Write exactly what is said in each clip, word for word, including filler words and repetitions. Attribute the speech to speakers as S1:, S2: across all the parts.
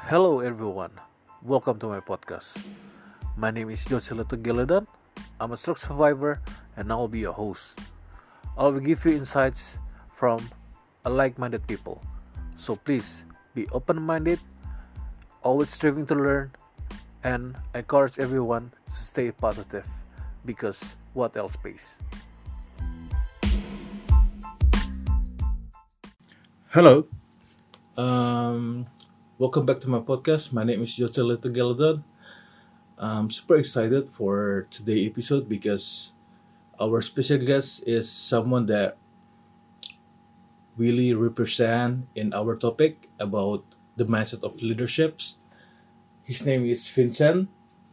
S1: Hello everyone, welcome to my podcast. My name is Josela Geladan. I'm a stroke survivor and I will be your host. I will give you insights from a like-minded people. So please be open-minded, always striving to learn, and encourage everyone to stay positive because what else pays? Hello, um, welcome back to my podcast. My name is Josela Geladan. I'm super excited for today's episode because our special guest is someone that really represent in our topic about the mindset of leaderships. His name is Vincent,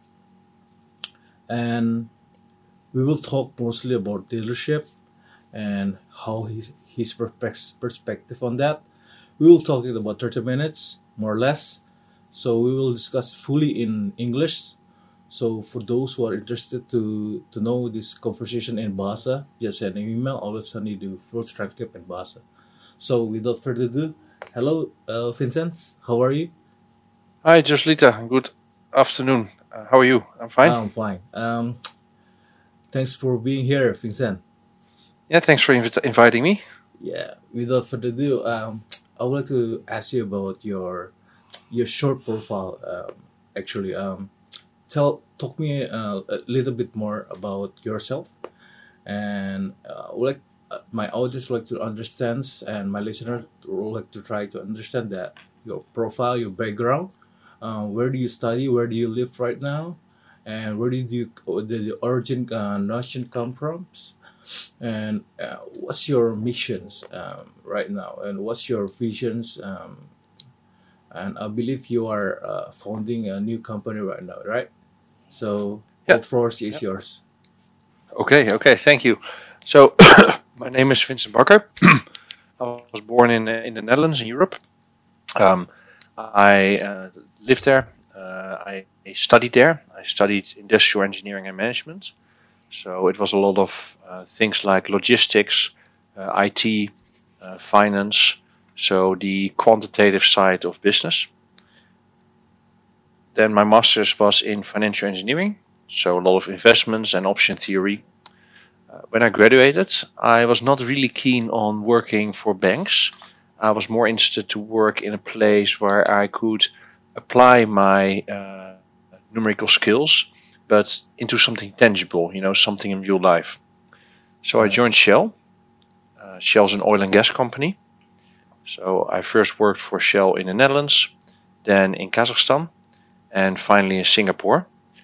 S1: and we will talk mostly about leadership and how his, his perspec- perspective on that. We will talk it about thirty minutes, more or less. So we will discuss fully in English. So for those who are interested to, to know this conversation in Bahasa, just send an email. I will send you the full transcript in Bahasa. So without further ado, hello, uh, Vincent. How are you?
S2: Hi, Joslita. Good afternoon. Uh, how are you? I'm fine.
S1: I'm fine. Um, thanks for being here, Vincent.
S2: Yeah, thanks for invi- inviting me.
S1: Yeah. Without further ado, um, I would like to ask you about your your short profile. Um, actually, um, tell talk me uh, a little bit more about yourself, and uh, would like uh, my audience would like to understand, and my listeners would like to try to understand that your profile, your background, uh, where do you study, where do you live right now, and where did you did the origin uh, notion come from, and uh, what's your missions um, right now, and what's your visions, um, and I believe you are uh, founding a new company right now, right? So
S2: Yeah.
S1: all floors is
S2: Yeah.
S1: yours.
S2: Okay. Okay. Thank you. So, my name is Vincent Bakker. I was born in uh, in the Netherlands, in Europe. Um, I uh, lived there. Uh, I studied there. I studied industrial engineering and management. So it was a lot of uh, things like logistics, uh, I T, uh, finance. So the quantitative side of business. Then my master's was in financial engineering, so a lot of investments and option theory. Uh, when I graduated, I was not really keen on working for banks. I was more interested to work in a place where I could apply my uh, numerical skills, but into something tangible, you know, something in real life. So I
S1: Right.
S2: joined Shell. Uh, Shell's an oil and gas company. So I first worked for Shell in the Netherlands, then in Kazakhstan, and finally in Singapore,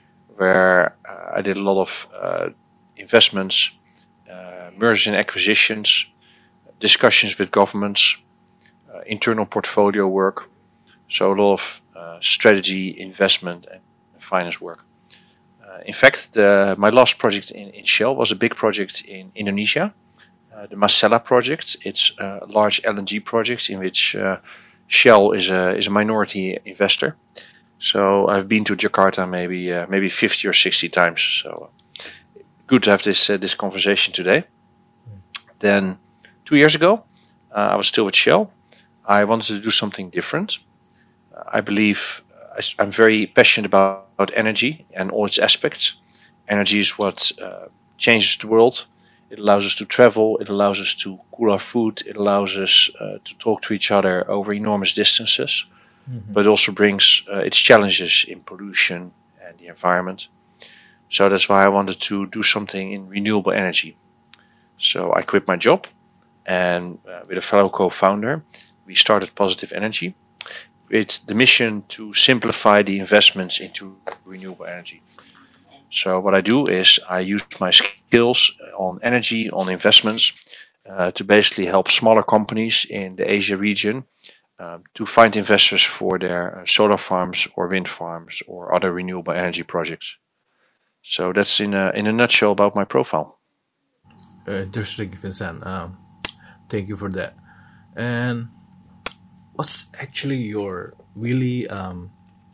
S2: where uh, I did a lot of uh, investments, uh, mergers and acquisitions, discussions with governments, uh, internal portfolio work. So a lot of uh, strategy, investment, and finance work. Uh, in fact, the, my last project in, in Shell was a big project in Indonesia, uh, the Masela project. It's a large L N G project in which uh, Shell is a is a minority investor. So I've been to Jakarta maybe uh, maybe fifty or sixty times. So good to have this uh, this conversation today. Then two years ago, uh, I was still with Shell. I wanted to do something different. Uh, I believe uh, I, am very passionate about, about energy and all its aspects. Energy is what uh, changes the world. It allows us to travel. It allows us to cool our food. It allows us uh, to talk to each other over enormous distances.
S1: Mm-hmm.
S2: But it also brings uh, its challenges in pollution and the environment. So that's why I wanted to do something in renewable energy. So I quit my job, and uh, with a fellow co-founder, we started Positive Energy with the mission to simplify the investments into renewable energy. So what I do is I use my skills on energy, on investments, uh, to basically help smaller companies in the Asia region um, to find investors for their uh, solar farms or wind farms or other renewable energy projects. So that's in a in a nutshell about my profile.
S1: Uh, interesting, Vincent. Um, thank you for that. And what's actually your really um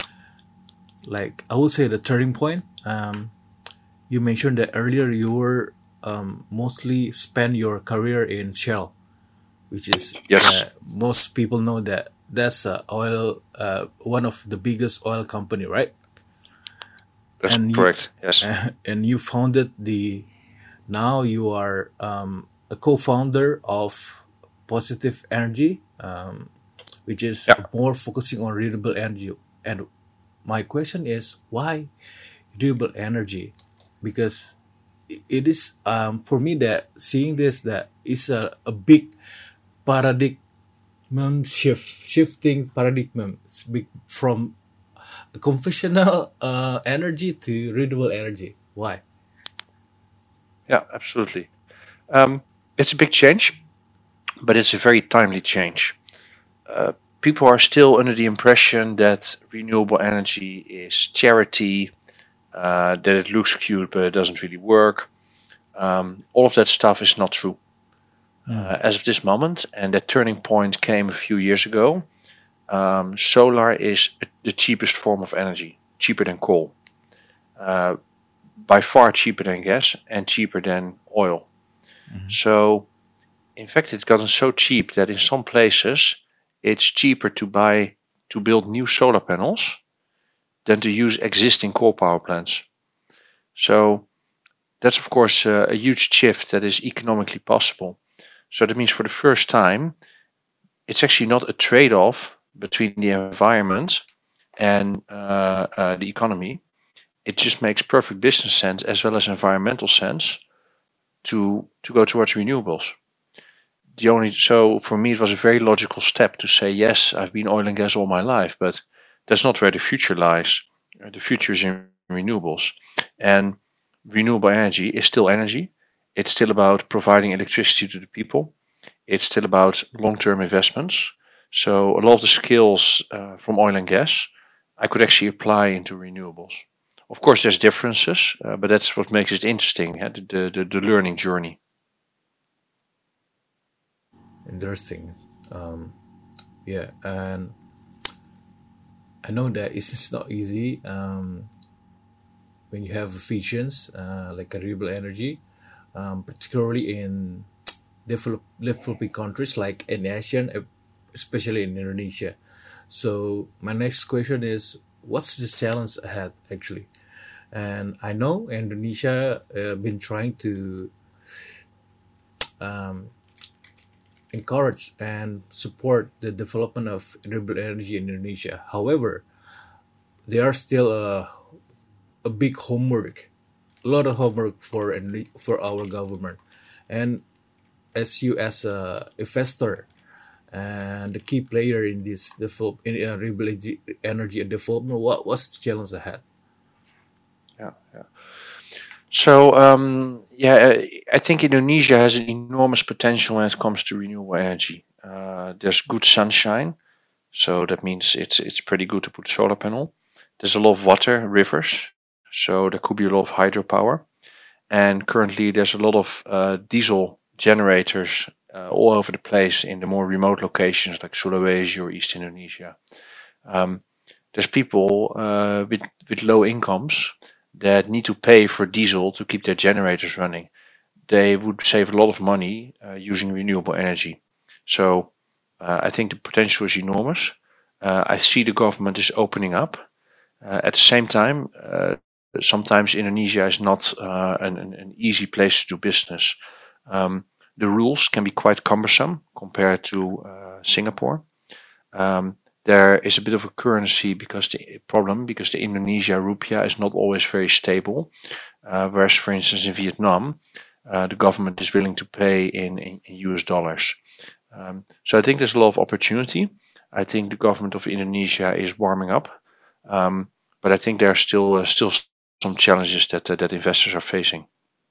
S1: like I would say the turning point? Um, you mentioned that earlier you were um mostly spend your career in Shell, which is
S2: Yes.
S1: that most people know that that's a oil, uh, one of the biggest oil company, right?
S2: That's
S1: And you,
S2: correct. Yes.
S1: and you founded the. Now you are um, a co-founder of Positive Energy, um, which is
S2: Yeah.
S1: more focusing on renewable energy. And my question is, why renewable energy? Because i- it is um, for me that seeing this that is a, a big paradigm shift, shifting paradigm. It's big from conventional uh, energy to renewable energy. Why?
S2: Yeah. Absolutely. Um, it's a big change, but it's a very timely change. Uh, People are still under the impression that renewable energy is charity, uh, that it looks cute but it doesn't really work. Um, all of that stuff is not true uh, as of this moment, and that turning point came a few years ago. Um, solar is the cheapest form of energy, cheaper than coal, uh, by far cheaper than gas, and cheaper than oil. So, in fact, it's gotten so cheap that in some places it's cheaper to buy to build new solar panels than to use existing coal power plants. So that's of course uh, a huge shift that is economically possible. So that means for the first time, it's actually not a trade-off between the environment and uh, uh, the economy. It just makes perfect business sense as well as environmental sense to to go towards renewables. The only so for me it was a very logical step to say yes, I've been oil and gas all my life, but that's not where the future lies. Uh, The future is in renewables, and renewable energy is still energy. It's still about providing electricity to the people. It's still about long-term investments. So a lot of the skills uh, from oil and gas, I could actually apply into renewables. Of course, there's differences, uh, but that's what makes it interesting, yeah, the, the the learning journey.
S1: Interesting. Um, yeah, and I know that it's just not easy um, when you have visions uh, like renewable energy, um, particularly in develop, developing countries like in Asia, uh, especially in Indonesia. So my next question is, what's the challenge ahead actually? And I know Indonesia uh, been trying to encourage and support the development of renewable energy in Indonesia. However, there are still a, a big homework, a lot of homework for for our government. And as you as a investor and the key player in this develop in uh, renewable energy energy and development, what what's the challenge ahead?
S2: Yeah, yeah. So um, yeah, uh, I think Indonesia has an enormous potential when it comes to renewable energy. Uh, there's good sunshine, so that means it's it's pretty good to put solar panel. There's a lot of water, rivers, so there could be a lot of hydropower. And currently, there's a lot of uh, diesel generators uh, all over the place in the more remote locations like Sulawesi or East Indonesia. Um, there's people uh, with with low incomes that need to pay for diesel to keep their generators running. They would save a lot of money uh, using renewable energy. So uh, I think the potential is enormous. Uh, I see the government is opening up. Uh, at the same time, uh, sometimes Indonesia is not uh, an, an, an easy place to do business. Um, the rules can be quite cumbersome compared to uh, Singapore. Um, there is a bit of a currency because the problem because the Indonesia rupiah is not always very stable. Uh, whereas, for instance, in Vietnam, uh, the government is willing to pay in, in, in U S dollars. Um, so I think there's a lot of opportunity. I think the government of Indonesia is warming up, um, but I think there are still uh, still some challenges that uh, that investors are facing.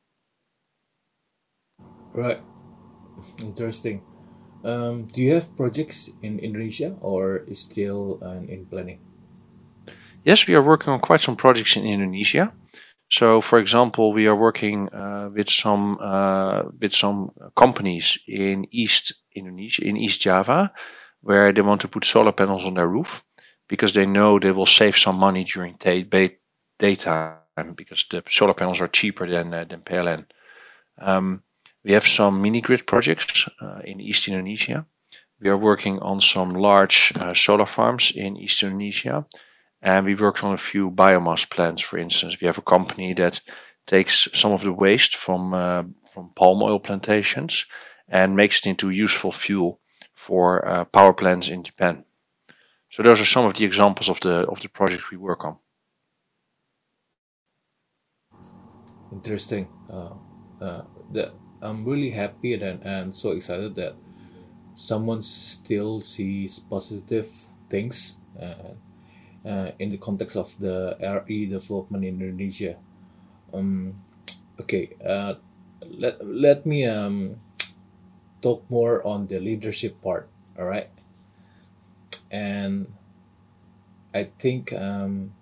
S1: Right, interesting. Um, do you have projects in Indonesia or is still uh, in planning?
S2: Yes, we are working on quite some projects in Indonesia. So, for example, we are working uh, with some uh, with some companies in East Indonesia, in East Java, where they want to put solar panels on their roof because they know they will save some money during day, day, daytime because the solar panels are cheaper than uh, than P L N. Um, we have some mini grid projects uh, in East Indonesia. we are working on some large uh, solar farms in East Indonesia, and we worked on a few biomass plants. For instance, we have a company that takes some of the waste from uh, from palm oil plantations and makes it into useful fuel for uh, power plants in Japan. So those are some of the examples of the of the projects we work on.
S1: Interesting. Uh, uh, that I'm really happy and, and so excited that someone still sees positive things uh, uh, in the context of the R E development in Indonesia. Um, okay, uh, let, let me um, talk more on the leadership part. All right, and I think um,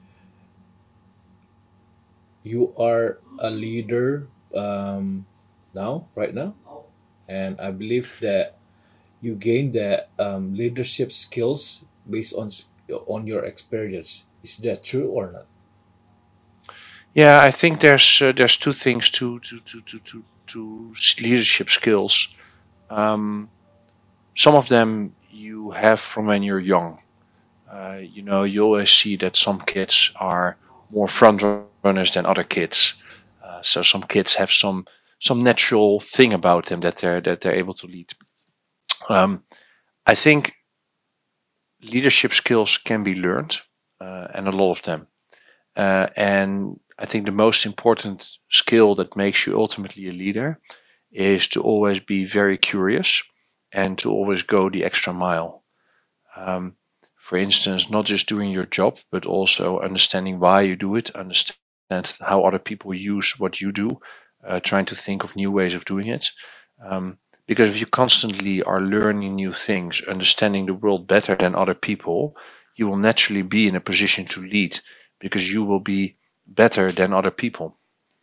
S1: you are a leader um, now, right now, and I believe that you gain the um, leadership skills based on s- on your experience. Is that true or not?
S2: Yeah, I think there's uh, there's two things to to to to to, to s- leadership skills. Um, some of them you have from when you're young. Uh, you know, you always see that some kids are more front runners than other kids. Uh, so some kids have some some natural thing about them that they're that they're able to lead. Um, I think leadership skills can be learned, uh, and a lot of them. Uh, and I think the most important skill that makes you ultimately a leader is to always be very curious and to always go the extra mile. Um, for instance, not just doing your job, but also understanding why you do it, understand how other people use what you do, uh, trying to think of new ways of doing it. Um, because if you constantly are learning new things, understanding the world better than other people, you will naturally be in a position to lead because you will be better than other people.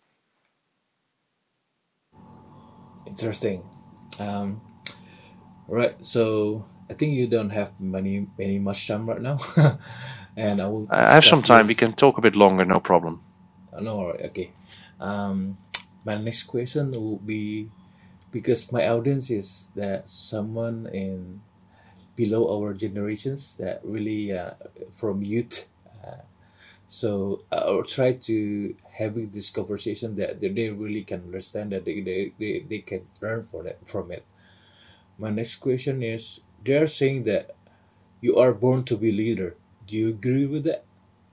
S1: Interesting. Um, right. So I think you don't have many many much time right now, and I will
S2: I have some
S1: discuss
S2: time. We
S1: this.
S2: can talk a bit longer, no problem.
S1: Uh, no, all right, okay. Um, my next question will be because my audience is that someone in below our generations that really uh, from youth. So I'll try to having this conversation that they they really can understand that they, they, they, they can learn from it from it. My next question is they're saying that you are born to be leader. Do you agree with that?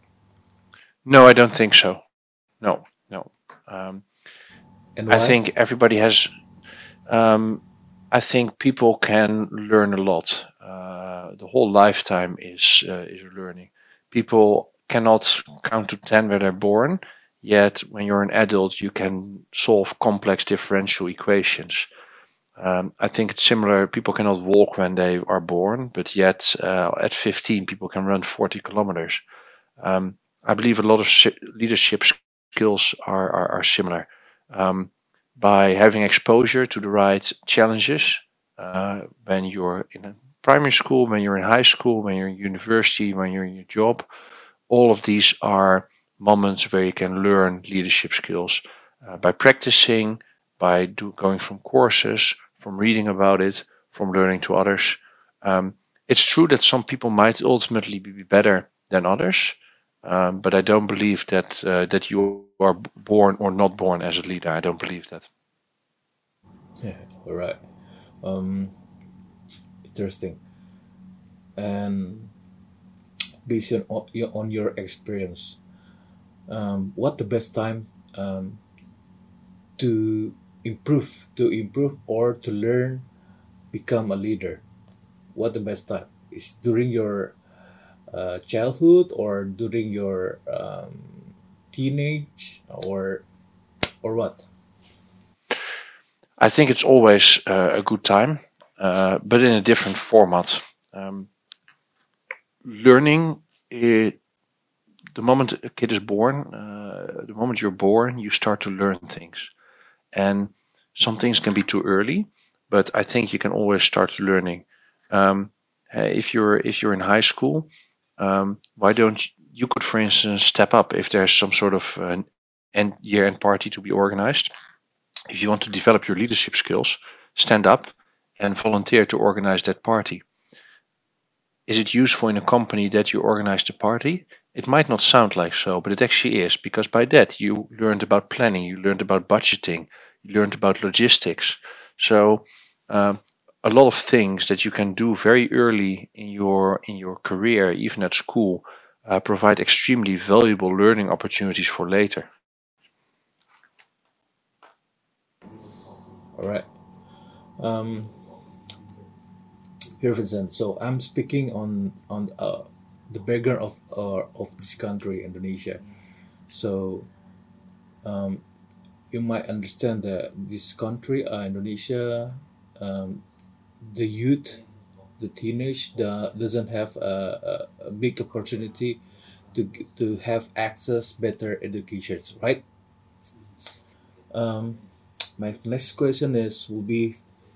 S2: No, I don't think so. No, no. Um,
S1: And
S2: I
S1: why?
S2: think everybody has. Um, I think people can learn a lot. Uh, the whole lifetime is uh, is learning. People cannot count to ten when they're born. Yet, when you're an adult, you can solve complex differential equations. Um, I think it's similar. People cannot walk when they are born, but yet uh, at fifteen, people can run forty kilometers. Um, I believe a lot of si- leadership skills are, are, are similar. Um, by having exposure to the right challenges uh, when you're in a primary school, when you're in high school, when you're in university, when you're in your job, all of these are moments where you can learn leadership skills uh, by practicing, by do, going from courses, from reading about it, from learning to others. Um, it's true that some people might ultimately be better than others, um, but I don't believe that uh, that you are born or not born as a leader. I don't believe that.
S1: Yeah, all right. Um, interesting. And based on o- your on your experience, um, what the best time um, to improve to improve or to learn become a leader? What the best time is during your uh, childhood or during your um, teenage or or what?
S2: I think it's always uh, a good time, uh, but in a different format. Um, learning, it, the moment a kid is born, uh, the moment you're born, you start to learn things. And some things can be too early, but I think you can always start learning. Um, uh, if you're if you're in high school, um, why don't you, you could, for instance, step up if there's some sort of an end year end party to be organized. If you want to develop your leadership skills, stand up and volunteer to organize that party. Is it useful in a company that you organize the party? It might not sound like so, but it actually is, because by that you learned about planning, you learned about budgeting, you learned about logistics. So um, a lot of things that you can do very early in your in your career, even at school, uh, provide extremely valuable learning opportunities for later.
S1: All right. Here, Vincent. So I'm speaking on on uh, the background of uh, of this country, Indonesia. So you might understand that this country, uh, Indonesia, the youth, the teenage, the, doesn't have a, a, a big opportunity to g- to have access better education, right? My next question is will be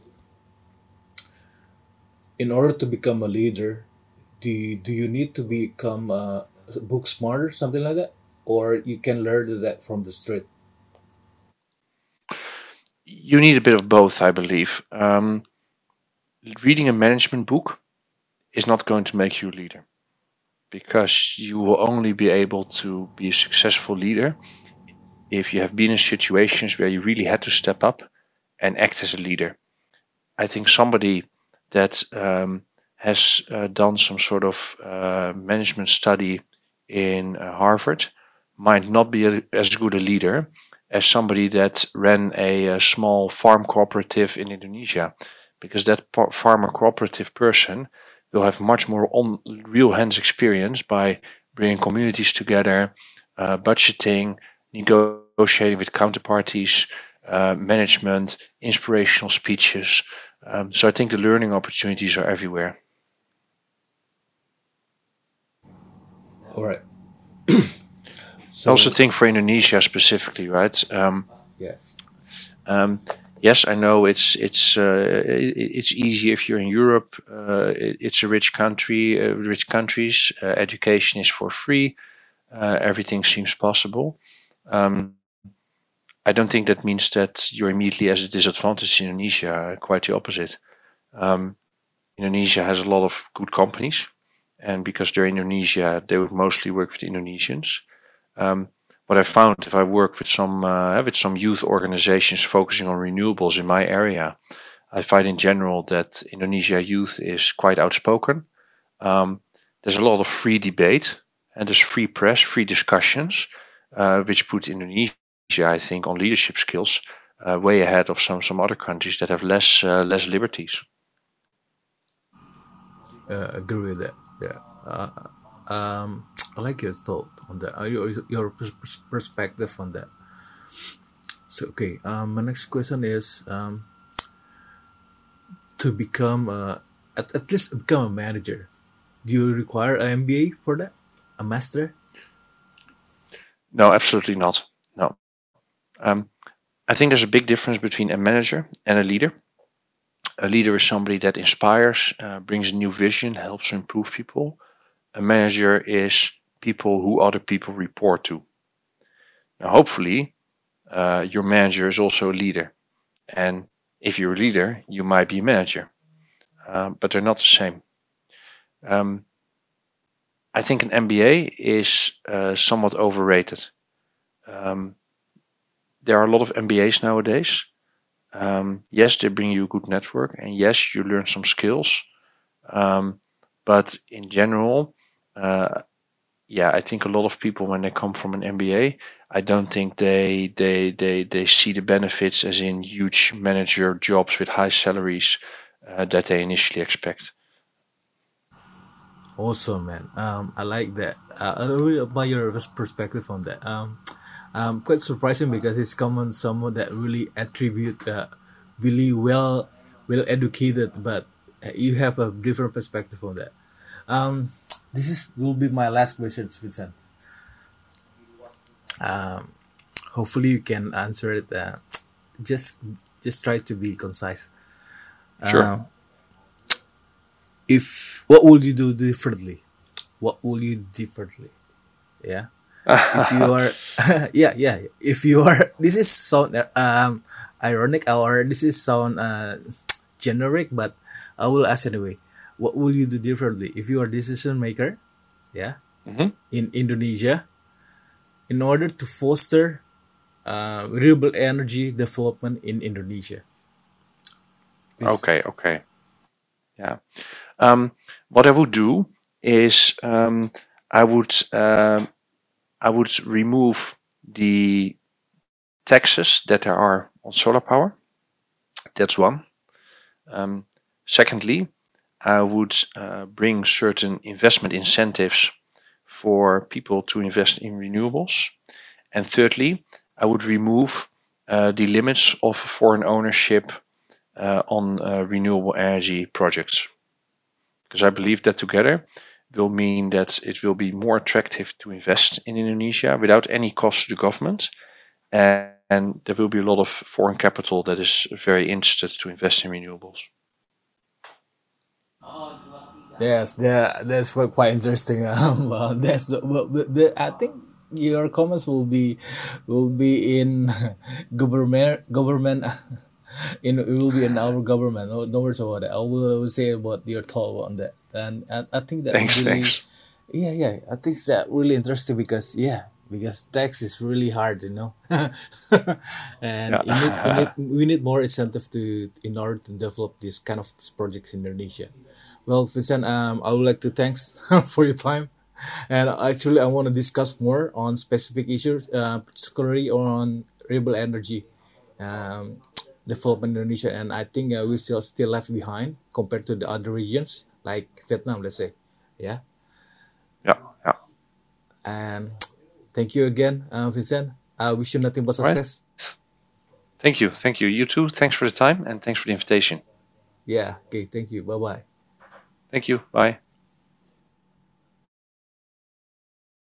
S1: in order to become a leader, do you, do you need to become uh, book smarter, something like that, or you can learn that from the street?
S2: You need a bit of both, I believe. Um, reading a management book is not going to make you a leader, because you will only be able to be a successful leader if you have been in situations where you really had to step up and act as a leader. I think somebody that um, has uh, done some sort of uh, management study in uh, Harvard might not be a, as good a leader as somebody that ran a, a small farm cooperative in Indonesia, because that par- farmer cooperative person will have much more on real hands experience by bringing communities together, uh, budgeting, negotiating with counterparties, uh, management, inspirational speeches. Um, so I think the learning opportunities are everywhere.
S1: All right.
S2: I also
S1: So
S2: think for Indonesia specifically, right? Um,
S1: yeah,
S2: um, yes, I know it's it's uh, it, it's easy if you're in Europe. Uh, it, it's a rich country, uh, rich countries. Uh, education is for free. Uh, everything seems possible. Um, I don't think that means that you're immediately at a disadvantage in Indonesia. Quite the opposite. Um, Indonesia has a lot of good companies, and because they're Indonesia, they would mostly work with Indonesians. Um, what I found, if I work with some uh, with some youth organizations focusing on renewables in my area, I find in general that Indonesia youth is quite outspoken. Um, there's a lot of free debate, and there's free press, free discussions, uh, which put Indonesia, I think, on leadership skills uh, way ahead of some some other countries that have less uh, less liberties.
S1: uh, agree with that. Yeah. Um, I like your thought on that. Uh, your your pers- perspective on that. So okay. Um, my next question is um to become uh at, at least become a manager. Do you require an M B A for that? A master?
S2: No, absolutely not. No. Um, I think there's a big difference between a manager and a leader. A leader is somebody that inspires, uh, brings a new vision, helps to improve people. A manager is people who other people report to. Now, hopefully, uh, your manager is also a leader. And if you're a leader, you might be a manager, uh, but they're not the same. Um, I think an M B A is uh, somewhat overrated. Um, there are a lot of M B As nowadays. Um, yes, they bring you a good network, and yes, you learn some skills. Um, but in general, uh, yeah, I think a lot of people when they come from an M B A, I don't think they they they they see the benefits as in huge manager jobs with high salaries uh, that they initially expect.
S1: Awesome, man. Um, I like that. Uh, I really admire your pers- perspective on that. Um, um, quite surprising because it's common someone that really attribute uh, really well well educated, but uh, you have a different perspective on that. Um, this is will be my last question, Vincent. Hopefully, you can answer it. Uh, just just try to be concise.
S2: Sure.
S1: If what would you do differently? What will you differently? Yeah. If you are, yeah, yeah. If you are, this is sound uh, um ironic or this is sound uh generic, but I will ask anyway. What will you do differently if you are decision maker? Yeah,
S2: Mhm.
S1: in Indonesia, in order to foster uh, renewable energy development in Indonesia. Please.
S2: Okay, okay. Yeah. Um, what I would do is um, I would um, I would remove the taxes that there are on solar power. That's one. Um, secondly, I would uh, bring certain investment incentives for people to invest in renewables. And thirdly, I would remove uh, the limits of foreign ownership uh, on uh, renewable energy projects. Because I believe that together will mean that it will be more attractive to invest in Indonesia without any cost to the government. And, and there will be a lot of foreign capital that is very interested to invest in renewables.
S1: Yes, that that's quite quite interesting. Um, uh, that's the, well, the, the I think your comments will be will be in government government in it will be in our government. No, no worries about that. I will, I will say about your thought on that, and I, I think that
S2: Thanks,
S1: really,
S2: thanks.
S1: yeah, yeah, I think that really interesting because yeah, because tax is really hard, you know, and you need, you need
S2: Yeah.
S1: we need more incentive to in order to develop this kind of projects in Indonesia. Well, Vincent, um, I would like to thanks for your time. And actually, I want to discuss more on specific issues, uh, particularly on renewable energy um, development in Indonesia. And I think uh, we still still left behind compared to the other regions like Vietnam, let's say. Yeah.
S2: Yeah, yeah.
S1: And thank you again, uh, Vincent. I wish you nothing but
S2: All right.
S1: success.
S2: Thank you. Thank you. You too. Thanks for the time and thanks for the invitation.
S1: Yeah. Okay. Thank you. Bye bye.
S2: Thank you. Bye.